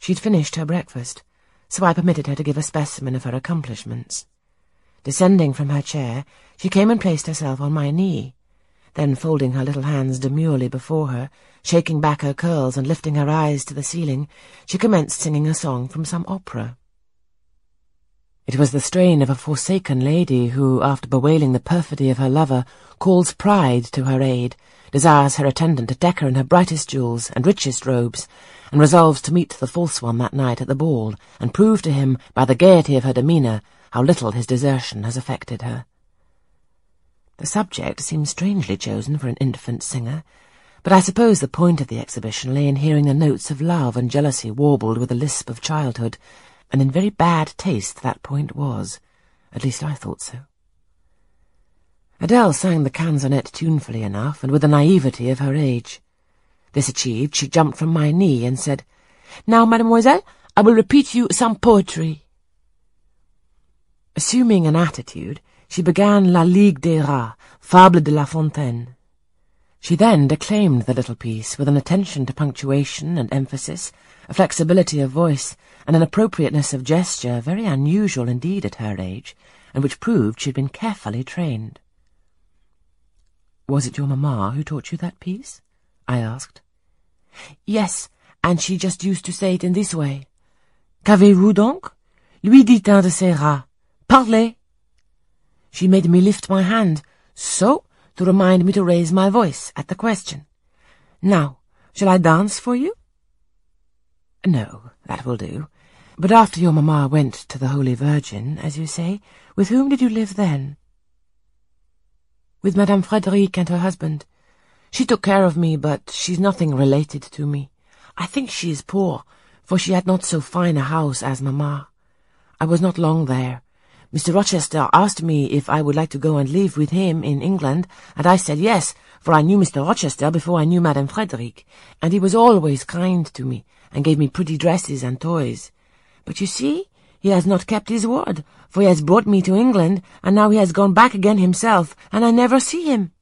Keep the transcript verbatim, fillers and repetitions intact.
She'd finished her breakfast, so I permitted her to give a specimen of her accomplishments. Descending from her chair, she came and placed herself on my knee. Then, folding her little hands demurely before her, shaking back her curls and lifting her eyes to the ceiling, she commenced singing a song from some opera. It was the strain of a forsaken lady who, after bewailing the perfidy of her lover, calls pride to her aid, desires her attendant to deck her in her brightest jewels and richest robes, and resolves to meet the false one that night at the ball, and prove to him, by the gaiety of her demeanour, how little his desertion has affected her. The subject seemed strangely chosen for an infant singer, but I suppose the point of the exhibition lay in hearing the notes of love and jealousy warbled with the lisp of childhood, and in very bad taste that point was. At least I thought so. Adele sang the canzonette tunefully enough, and with the naivety of her age. This achieved, she jumped from my knee and said, "Now, mademoiselle, I will repeat you some poetry." Assuming an attitude, she began La Ligue des Rats, Fable de La Fontaine. She then declaimed the little piece with an attention to punctuation and emphasis, a flexibility of voice, and an appropriateness of gesture very unusual indeed at her age, and which proved she had been carefully trained. "Was it your mamma who taught you that piece?" I asked. "Yes, and she just used to say it in this way. Qu'avez-vous donc? Lui dit un de ses rats. Parlez!" She made me lift my hand, so, to remind me to raise my voice at the question. "Now, shall I dance for you?" "No, that will do. But after your mamma went to the Holy Virgin, as you say, with whom did you live then?" "With Madame Frederic and her husband. She took care of me, but she's nothing related to me. I think she is poor, for she had not so fine a house as mamma. I was not long there. Mister Rochester asked me if I would like to go and live with him in England, and I said yes, for I knew Mister Rochester before I knew Madame Frederic, and he was always kind to me, and gave me pretty dresses and toys. But you see, he has not kept his word, for he has brought me to England, and now he has gone back again himself, and I never see him."